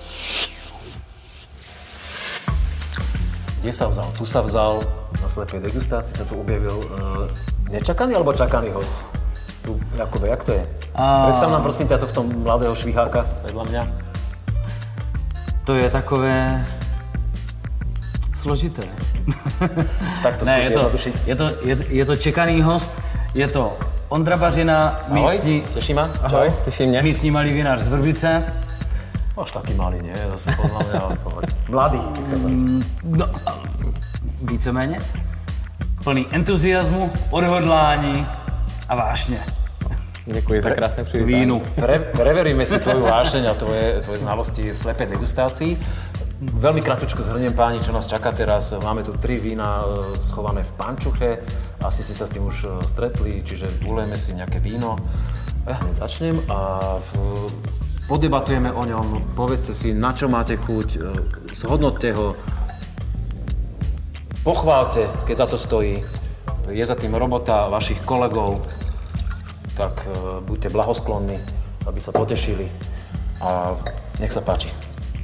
Kde sa vzal? Tu sa vzal, na slepej degustácii sa tu objavil nečakaný alebo čakaný host? Tu, Jakube, jak to je? Predstav nám prosím ťa tohto mladého šviháka vedľa mňa.
To je takové složité.
Tak to skúsi jednodušiť.
Je to čekaný host, je to Ondra Bařina, místní...
Ahoj, teší ma?
Ahoj, teší mě.
Místní malý vinář z Vrbice.
Až taký malý, nie? Zase podľa mňa... Mladý, jak sa hovorí.
No, víceméně. Plný entuziasmu, odhodlání a vášně.
Děkuji za krásné přivítání.
Vínu.
Preveríme si tvoju vášeň a tvoje znalosti v slepej degustácii. Veľmi kratučko zhrniem, páni, čo nás čaká teraz. Máme tu 3 vína schované v pančuche. Asi si sa s tým už stretli, čiže ulejeme si nejaké víno. Ja hneď začnem a podebatujeme o ňom. Povedzte si, na čo máte chuť, zhodnoťte ho, pochválte, keď za to stojí. Je za tým robota vašich kolegov, tak buďte blahosklonni, aby sa potešili a nech sa páči.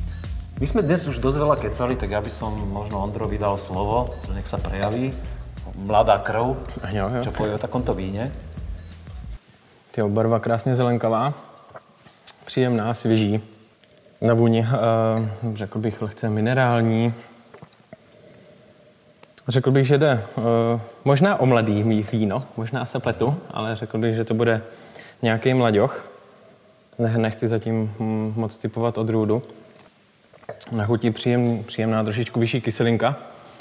My sme dnes už dosť veľa kecali, tak ja by som možno Ondrovi dal slovo, že nech sa prejaví. mladá krv,
Jo.
čo povie o takomto víne.
Tyjo, barva krásně zelenkavá, příjemná, svěží. Na vůni, řekl bych, lehce minerální. Řekl bych, že jde možná o mladý víno, možná se pletu, ale řekl bych, že to bude nějaký mlaďoch. Nechci zatím moc typovat odrůdu. Na chutí příjemná, trošičku vyšší kyselinka.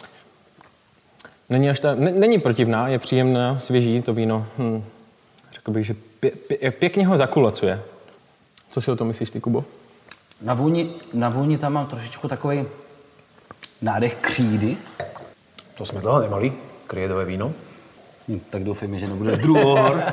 Není protivná, je příjemná, svěží to víno. Řekl bych, že pěkně ho zakulacuje. Co si o tom myslíš ty, Kubo?
Na vůni tam mám trošičku takový nádech křídy.
To sme dlho nemali, kriedové víno.
Tak doufejme, že nebude druhohor.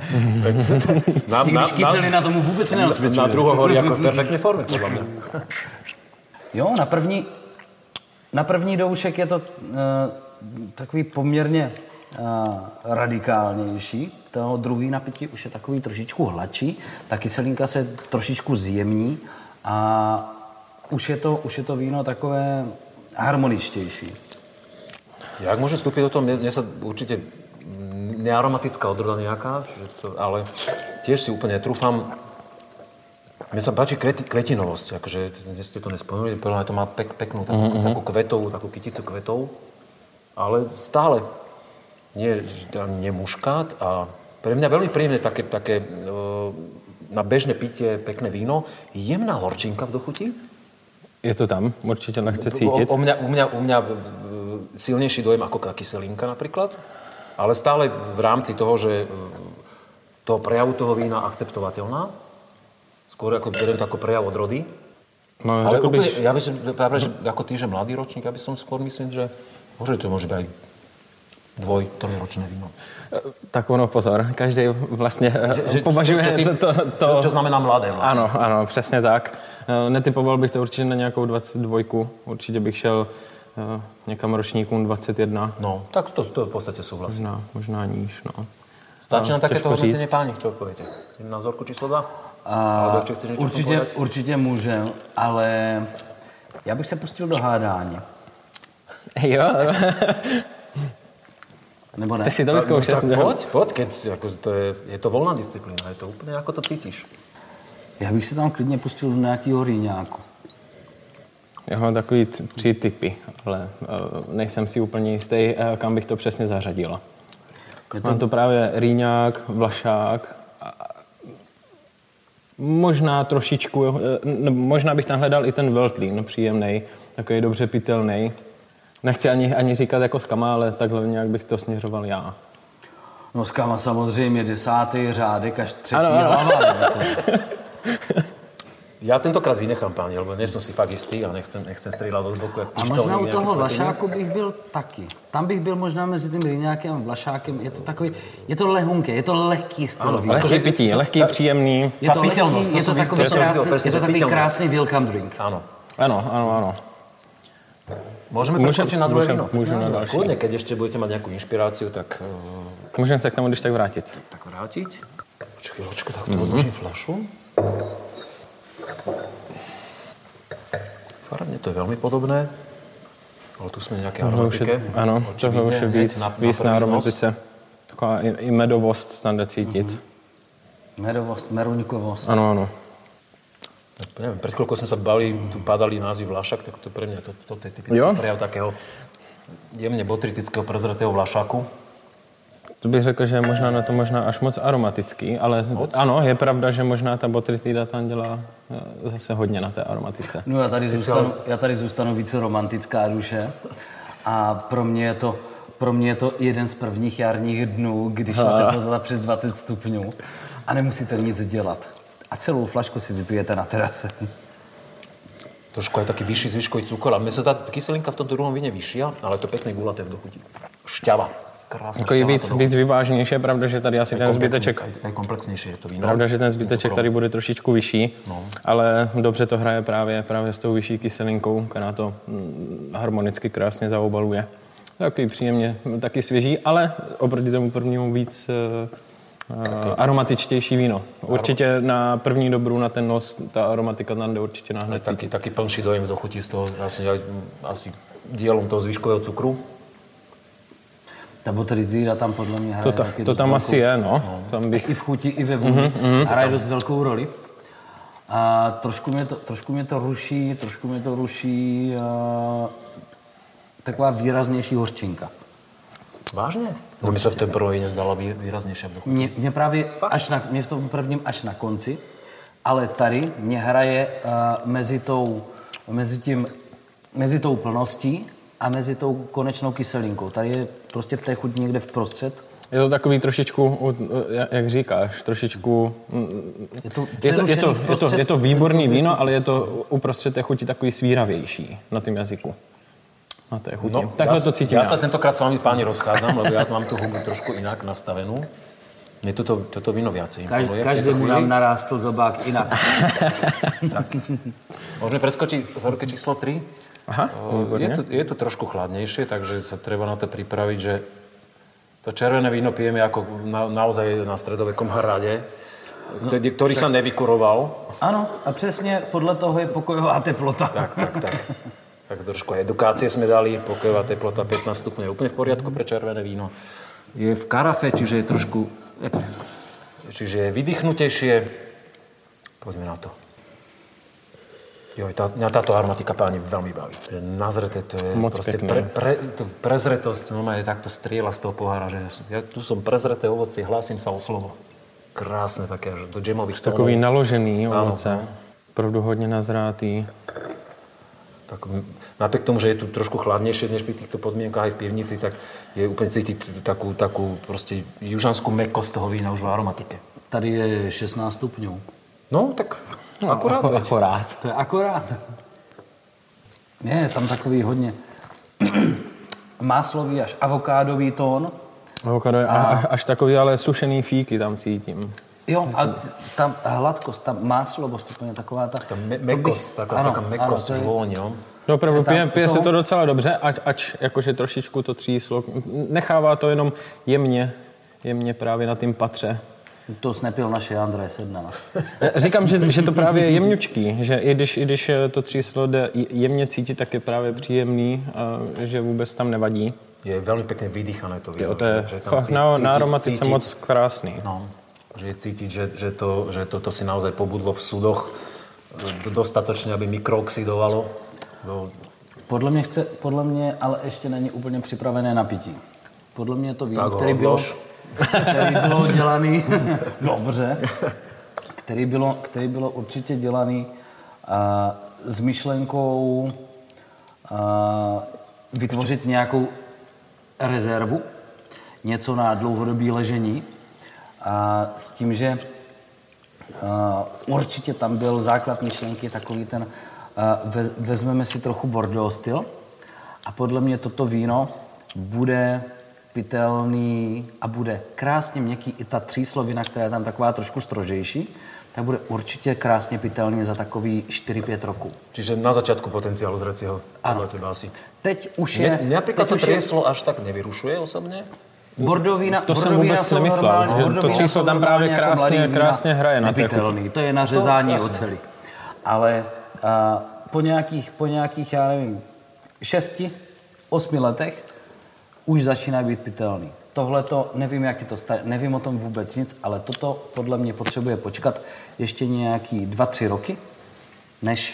Když kyselina tomu vůbec nenasvědčuje.
Na druhohor jako v perfektné formě, podľa mňa.
Jo, na první doušek je to takový poměrně radikálnější. Toho druhý napití už je takový trošičku hladší. Ta kyselinka se trošičku zjemní a už je to víno takové harmoničtější.
Jak môžem vstúpiť do toho? Mne sa určite nearomatická odroda nejaká, ale tiež si úplne netrúfam. Mne sa páči kvetinovosť, akože dnes ste to nespomenuli, podľa mňa to má peknú takú kvetovú, takú kyticu kvetov, ale stále nie muškát a pre mňa veľmi príjemné také na bežné pitie pekné víno, jemná horčinka v dochuti.
Je to tam, určite lehce cítiť.
U mňa silnejší dojem ako kyselinka napríklad, ale stále v rámci toho, že toho prejavu toho vína akceptovateľná. Skôr ako beriem to ako prejav odrody.
No,
ale úplne, ja by som, ako ty, že mladý ročník, ja by som skôr myslím, že to môže byť aj 2-3-ročné víno.
Tak ono, pozor, každý vlastně považuje
čo znamená mladé vlastně.
Ano, přesně tak. Netypoval bych to určitě na nějakou 22, určitě bych šel někam ročníkům 21.
No, tak to v podstate súhlasím.
Možná níž, no.
Stačí na takéto hodnotenie, páni, čo odpoviete? Na vzorku číslo 2?
Určitě můžem, ale já bych se pustil do hádání.
Jo.
Nebo ne?
Ty si to vyzkoušel.
Tak poď, keď je to voľná disciplína, je to úplne ako to cítiš.
Já bych se tam klidně pustil do nějakého rýňáku.
Já mám takový 3 typy, ale nejsem si úplně jistý, kam bych to přesně zařadila. Mám to právě rýňák, vlašák, možná trošičku, možná bych tam hledal i ten Veltlín, příjemnej, takový dobře pitelný. Nechci ani říkat jako skama, ale takhle nějak bych to směřoval já.
No skama samozřejmě 10. řádek až 3. hlava.
Ja tentokrát vynechám, páni, lebo nie som si fakt istý a nechcem strieľať od boku, jak
pištolník. A možná u toho vlašáku bych byl taky. Tam bych byl možná mezi tím rýňákem a vlašákem. Je to takový, je to lehunké, je to lehký styl.
Lehký pití, lehký, příjemný.
Je to takový krásný welcome drink.
Ano.
Môžeme preskočiť na druhé víno?
Môžeme na další.
Kľudne, keď ešte budete mať nejakú inšpiráciu, tak...
Môžeme sa k tomu když tak vrátiť.
Tak vrátiť? Chvíľočku, tak to odložím fľašu. Farebne to je veľmi podobné, ale tu sme nejaké aromatike.
Áno, toho už je víc na aromatice. Taková i medovost tam jde cítit.
Medovost, meruňkovost.
Ano.
Neviem, pred chvíľkou sme sa bavili, tu padali názvy vlašak, tak to pre mňa to je typický prejav takého jemne botritického prezretého vlašaku.
To bych řekl, že je možná na to až moc aromatický, ale ano, je pravda, že možná ta botrytida tam dělá zase hodně na té aromatice.
No já tady zůstanu více romantická duše a pro mě je to jeden z prvních jarních dnů, když je teplota přes 20 stupňů a nemusíte nic dělat. A celou flašku si vypijete na terase.
Trošku je taký vyšší zvyškový cukor, ale mne sa tá kyselinka v tomto druhom víne vyššia, ale to pekné gulaté v dochutí. Šťava. Krásne
šťava. Víc vyváženější, je pravda, že tady asi ten zbyteček...
Aj komplexnější je to víno.
Pravda, že ten zbyteček tady bude trošičku vyšší, ale dobře to hraje právě s tou vyšší kyselinkou, která to harmonicky krásně zaobaluje. Takový příjemně, taky svěží, ale oproti tomu prvnímu víc... aromatičtější víno. Určitě na první dobrou, na ten nos, ta aromatika tam jde určitě náhned cítit.
Taký plnší dojem v dochutí z toho, asi dielom toho zvyškového cukru.
Ta botrytída tam podle mě hraje taky
To tam asi je, no. Tam bych...
I v chuti, i ve vůni. Hraje dost velkou roli. A trošku mě to ruší taková výraznější hořčinka.
Vážně? No mi se v tom prvé nezdala výraznější.
Mě právě mě v tom prvním až na konci, ale tady mě hraje mezi tou plností a mezi tou konečnou kyselinkou. Tady je prostě v té chuti někde vprostřed.
Je to takový trošičku, jak říkáš, trošičku... Je to výborný víno, ale je to uprostřed té chuti takový svíravější na tom jazyku. Na té chuti.
No,
takhle to cítím.
Ja sa tentokrát s vami, páni, rozchádzam, lebo ja mám tú hubu trošku inak nastavenú. Mne toto víno viacej imponuje.
Každému nám narástl zobák inak.
Môžeme preskočiť vzorke číslo 3.
Aha,
je to trošku chladnejšie, takže sa treba na to pripraviť, že to červené víno pijeme ako naozaj na stredovekom hrade, ktorý sa nevykuroval.
Áno, a presne podľa toho je pokojová teplota.
Tak. Tak trošku edukácie sme dali, pokojová teplota 15 stupňov je úplne v poriadku pre červené víno. Je v karafe, čiže je trošku... Čiže je vydýchnutejšie. Poďme na to. Mňa táto aromatika, páni, veľmi baví. To je nazreté, to je
moc
proste prezretosť. No je takto strieľa z toho pohára, že ja tu som prezreté ovocie, hlásim sa o slovo. Krásne také, že do džemových tónov.
Takový naložený ovoce. Opravdu hodne nazrátý.
Tak napriek tomu, že je tu trošku chladnejšie než pri týchto podmienkách aj v pivnici, tak je úplne cítiť takú proste južanskú mäkkosť toho vína už v aromatike.
Tady je 16 stupňov.
No, tak akorát.
To je akorát. Je tam takový hodně máslový až avokádový tón.
Avokádo je až takový, ale sušený fíky tam cítím.
Jo, a ta hladkost, ta máslovost, úplně taková ta...
Ta mäkkost, taká mäkkost už vôň, jo.
No opravdu, pije se to docela dobře, ač jakože trošičku to tříslo. Nechává to jenom jemně právě na tým patře.
To snepil naše Andrej 17.
Říkám, že to právě je jemňučký, že i když to tříslo jde jemně cítit, tak je právě příjemný, a že vůbec tam nevadí.
Je veľmi pekne vydýchané to víno.
To je fakt na aromatice moc krásný.
No, že je cítiť, že toto si naozaj pobudlo v súdoch dostatočne, aby mikrooxidovalo.
Podle mě ale ještě není úplně připravené na pití. Podle mě to víno, který bylo dělaný dobře, který bylo určitě dělaný s myšlenkou vytvořit nějakou rezervu, něco na dlouhodobé ležení a s tím, že určitě tam byl základ myšlenky takový ten vezmeme si trochu Bordeaux styl a podle mě toto víno bude pitelný a bude krásně měkký. I ta tříslovina, která je tam taková trošku strožejší, tak bude určitě krásně pitelný za takový 4-5 roků.
Čiže na začiatku potenciálu zrecieho.
Ano.
Asi.
Teď už je...
Napríklad to trieslo až tak nevyrušuje osobně?
Bordeaux vína,
to jsem vůbec nemyslel, že to číslo tam právě krásně hraje na té chuti.
To je na řezání oceli. Ale po nějakých, já nevím, 6-8 letech už začíná být pitelný. Tohle to, nevím, jak je to nevím o tom vůbec nic, ale toto podle mě potřebuje počkat ještě nějaký 2-3 roky, než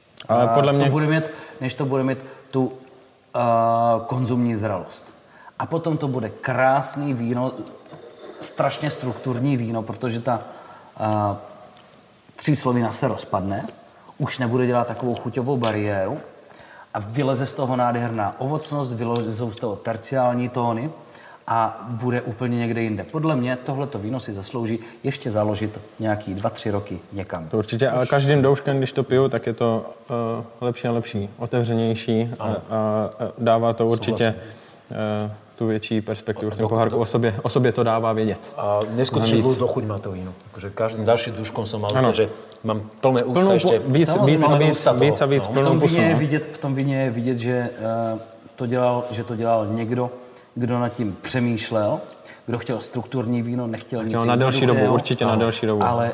to bude mít tu konzumní zralost. A potom to bude krásný víno, strašně strukturní víno, protože ta tříslovina se rozpadne, už nebude dělat takovou chuťovou bariéru a vyleze z toho nádherná ovocnost, vylezou z toho terciální tóny a bude úplně někde jinde. Podle mě tohleto víno si zaslouží ještě založit nějaký 2-3 roky někam.
To určitě, ale každým douškem, když to piju, tak je to lepší a lepší, otevřenější a dává to určitě tu větší perspektivu v tom pohárku. O sobě to dává vědět.
A neskutočne dochuť má to víno. Takže každým ďalším duškom som mal, že mám plné ústa ešte.
Víc a víc plnou pusu.
V tom víně je vidět, že to dělal někdo, kdo nad tím přemýšlel, kdo chtěl strukturní víno, nechtěl nic
na delší dobu, určitě na delší dobu.
Ale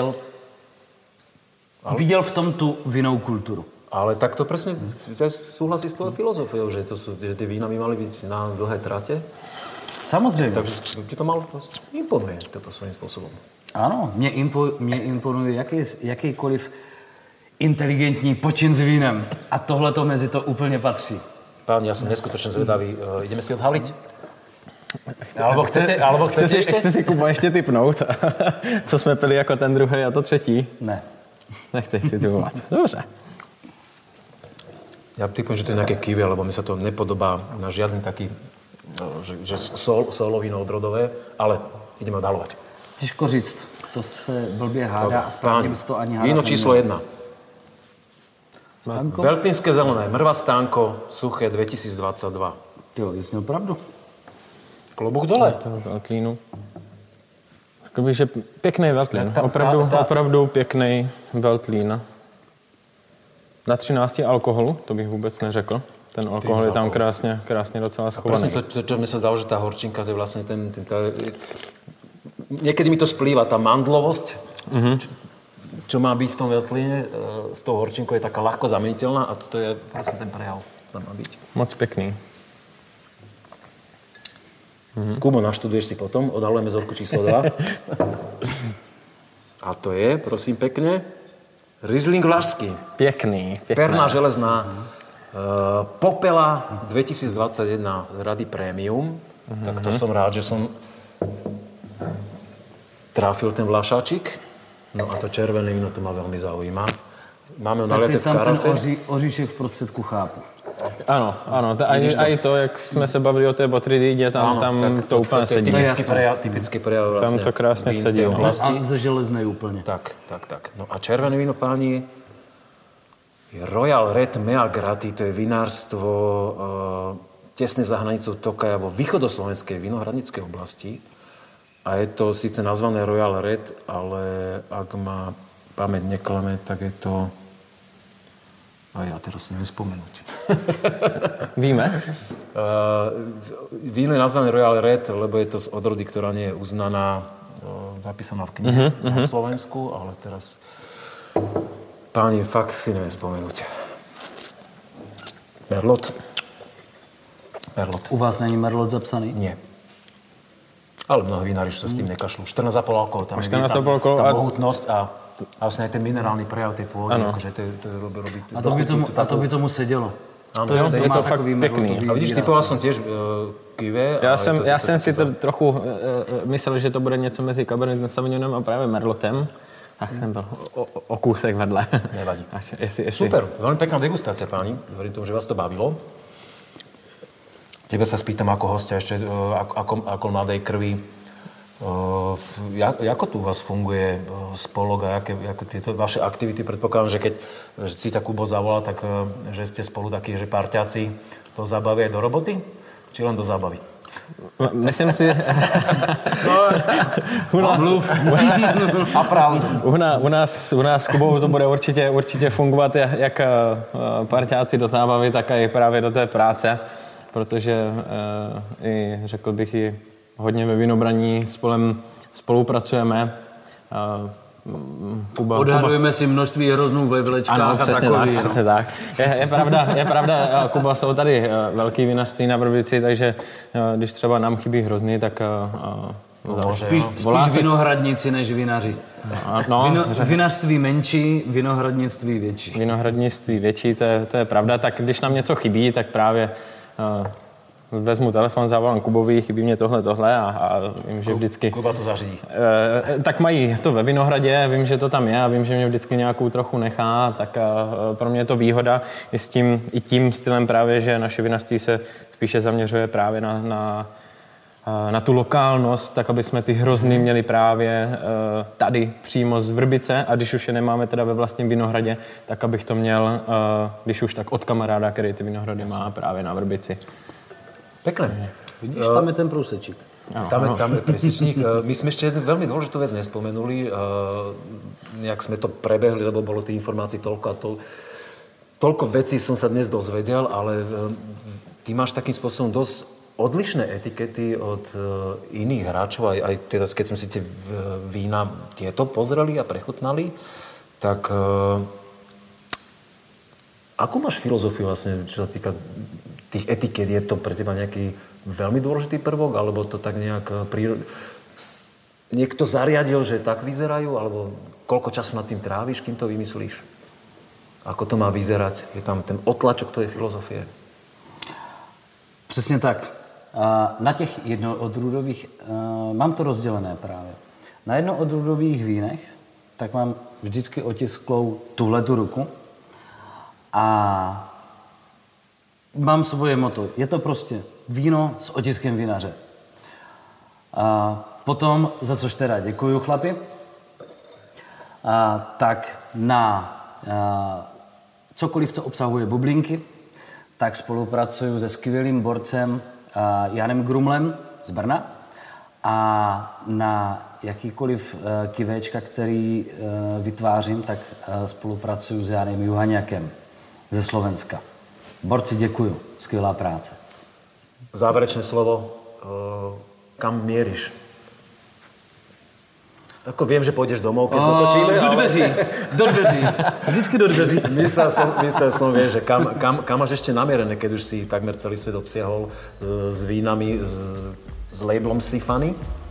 viděl v tom tu vinnou kulturu.
Ale tak to presne súhlasí s tvojou filozofiou, že tie vína by mali byť na dlhé trate?
Samozřejmě.
Takže ti to malo imponuje toto svým způsobem.
Ano, mě imponuje jakýkoliv inteligentní počin s vínem. A tohle to mezi to úplně patří.
Pán, ja som neskutočne zvedavý. Ideme si odhaliť? Alebo chcete ještě?
Chci si, Kuba, ještě tipnout, co jsme pili jako ten druhý a to třetí?
Ne.
Nechceš si tipovat. Dobře.
Ja typujem, že to je nejaké kiwi, lebo mi sa to nepodobá na žiadny taký, že solovíno odrodové, ale ideme odhalovať.
Těžko říct, to se blbě hádá a správně bys to ani hádat
víno číslo 1.
Stánko?
Veltlínské zelené, Mrva Stánko, suché 2022.
Jo, jsi měl pravdu.
Klobuch dole.
To Veltlínu. Řekl bych, že pěkný Veltlín. Opravdu pěkný Veltlín. Na 13 alkoholu, to bych vůbec neřekl. Ten alkohol je tam krásně docela schovaný.
Presne to, čo mi sa zdalo, že tá horčinka, to je vlastne niekedy mi to splýva, tá mandlovosť, čo má byť v tom Veltlíne, s tou horčinkou je taká ľahko zameniteľná a toto je vlastne ten prejav, tam má byť.
Moc pěkný.
Kubo, naštuduješ si potom, odhalujeme vzorku číslo 2. A to je, prosím pekne, Riesling Vlašský.
Pěkný.
Perná železná. Popela 2021 Rady Premium. Tak to som rád, že som tráfil ten Vlašáčik. No a to červené víno to ma veľmi zaujíma. Máme ho naliaté v karafe.
Ten oříšek v prostředku chápu.
Ano. I to, jak jsme se bavili o té Botrytidě, tam to úplně sedí.
Typický prejav
Tam
vlastne.
to krásně sedí.
A ze železnej úplně.
Tak. No a červené víno, páni, je Royal Red Mea Grati, to je vinárstvo tesne za hranicou Tokaja vo východoslovenskej vinohradníckej oblasti. A je to síce nazvané Royal Red, ale ak ma pamäť neklame, tak je to... A ja teraz si neviem spomenúť.
Víme?
Víno je nazvané Royal Red, lebo je to z odrody, ktorá nie je uznaná, zapísaná v knihe na Slovensku, ale teraz... Páni, fakt si neviem spomenúť. Merlot.
U vás není Merlot zapsaný?
Nie. Ale mnoho vinári sa s tým nekašľú. 14,5 alkohol, tam je tá mohutnosť a vlastne aj ten minerálny prejav tej pôvody, akože to robí...
A to by tomu sedělo.
Ano,
je to fakt pěkný.
A vidíš, typoval jsem těž kive.
Já jsem si to trochu myslel, že to bude něco mezi Cabernet Sauvignonem a právě Merlotem. Tak jsem byl o kousek vedle.
Nevadí.
Jestli...
Super, veľmi pekná degustácia, páni. Verím tomu, že vás to bavilo. Tebe sa spýtam ako hostia ešte, ako mladej krvi. Ako tu u vás funguje spolok a ako tieto vaše aktivity? Predpokladám, že keď si tak Kubo zavolá, tak že ste spolu takí, že parťáci to zabaví aj do roboty? Či len do zábavy?
Myslím si...
Mluv. A pravdu.
U nás s Kubou to bude určitě fungovat jak parťáci do zábavy, tak i právě do té práce, protože i řekl bych i hodně ve vinobraní spolupracujeme.
Odhadujeme si množství hroznů ve vlečkách a takový.
Přesně tak. Je pravda, Kuba, jsou tady velký vinařství na Vrbici, takže když třeba nám chybí hrozny, tak
spíš vinohradníci než vinaři. Vinařství menší, vinohradnictví větší.
Vinohradnictví větší, to je pravda. Tak když nám něco chybí, tak právě vezmu telefon, zavolám Kubovi, chybí mě tohle a vím, že vždycky...
Kuba to zařídí.
Tak mají to ve Vinohradě, vím, že to tam je a vím, že mě vždycky nějakou trochu nechá, tak pro mě je to výhoda i tím stylem právě, že naše vinařství se spíše zaměřuje právě na tu lokálnost, tak aby jsme ty hrozny měli právě tady přímo z Vrbice a když už je nemáme teda ve vlastním Vinohradě, tak abych to měl, když už tak od kamaráda, který ty Vinohrady má právě na Vrbici.
Pekné.
Vidíš, tam je ten průsečík.
Tam je presečník. My sme ešte jednu veľmi dôležitú vec nespomenuli. Nejak sme to prebehli, lebo bolo tých informácií toľko a toľko vecí som sa dnes dozvedel, ale ty máš takým spôsobom dosť odlišné etikety od iných hráčov. Aj teda, keď sme si tie vína tieto pozreli a prechutnali, tak Akú máš filozofiu vlastne, čo sa týka tých etiket? Je to pre teba nejaký veľmi dôležitý prvok, alebo to tak nejak niekto zariadil, že tak vyzerajú, alebo koľko času nad tým tráviš, kým to vymyslíš? Ako to má vyzerať? Je tam ten otlačok tvojej filozofie?
Přesně tak. Na těch jednoodrůdových, mám to rozdělené právě. Na jednoodrůdových vínech, tak mám vždycky otisklou tuhletu ruku a mám svoje motto. Je to prostě víno s otiskem vinaře. A potom, za což teda děkuju, chlapi, tak na cokoliv, co obsahuje bublinky, tak spolupracuju se skvělým borcem Janem Grumlem z Brna a na jakýkoliv kivéčka, který vytvářím, tak spolupracuju s Janem Juhaňakem ze Slovenska. Borci, děkuju. Skvělá práce.
Záverečné slovo. Kam mieríš? Ako viem, že pôjdeš domov, keď dotočíme,
Do dveří. Do dveří. Vždycky do dveří.
Myslel som, vieš, že kam máš ešte namierené, keď už si takmer celý svet obsiahol s vínami, s labelom Sifany?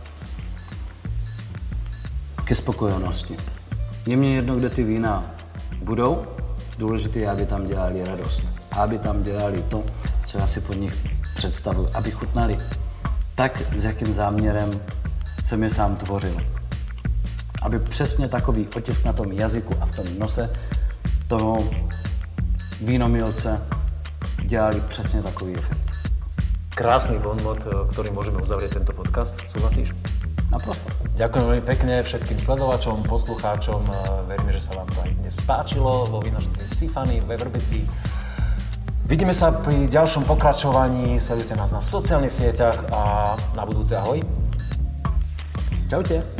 Ke spokojenosti. Je mně jedno, kde ty vína budou. Důležité je, aby tam dělali radost. Aby tam dělali to, co já si pod nich představuji. Aby chutnali tak, s jakým záměrem jsem je sám tvořil. Aby přesně takový otisk na tom jazyku a v tom nose toho vínomilce dělali přesně takový efekt.
Krásny bonmot, ktorým môžeme uzavrieť tento podcast. Súhlasíš?
Naprosto.
Ďakujem veľmi pekne všetkým sledovačom, poslucháčom. Veríme, že sa vám to aj dnes páčilo vo vínožstve Sifany ve Vrbici. Vidíme sa pri ďalšom pokračovaní. Sledujte nás na sociálnych sieťach a na budúce ahoj.
Čaute.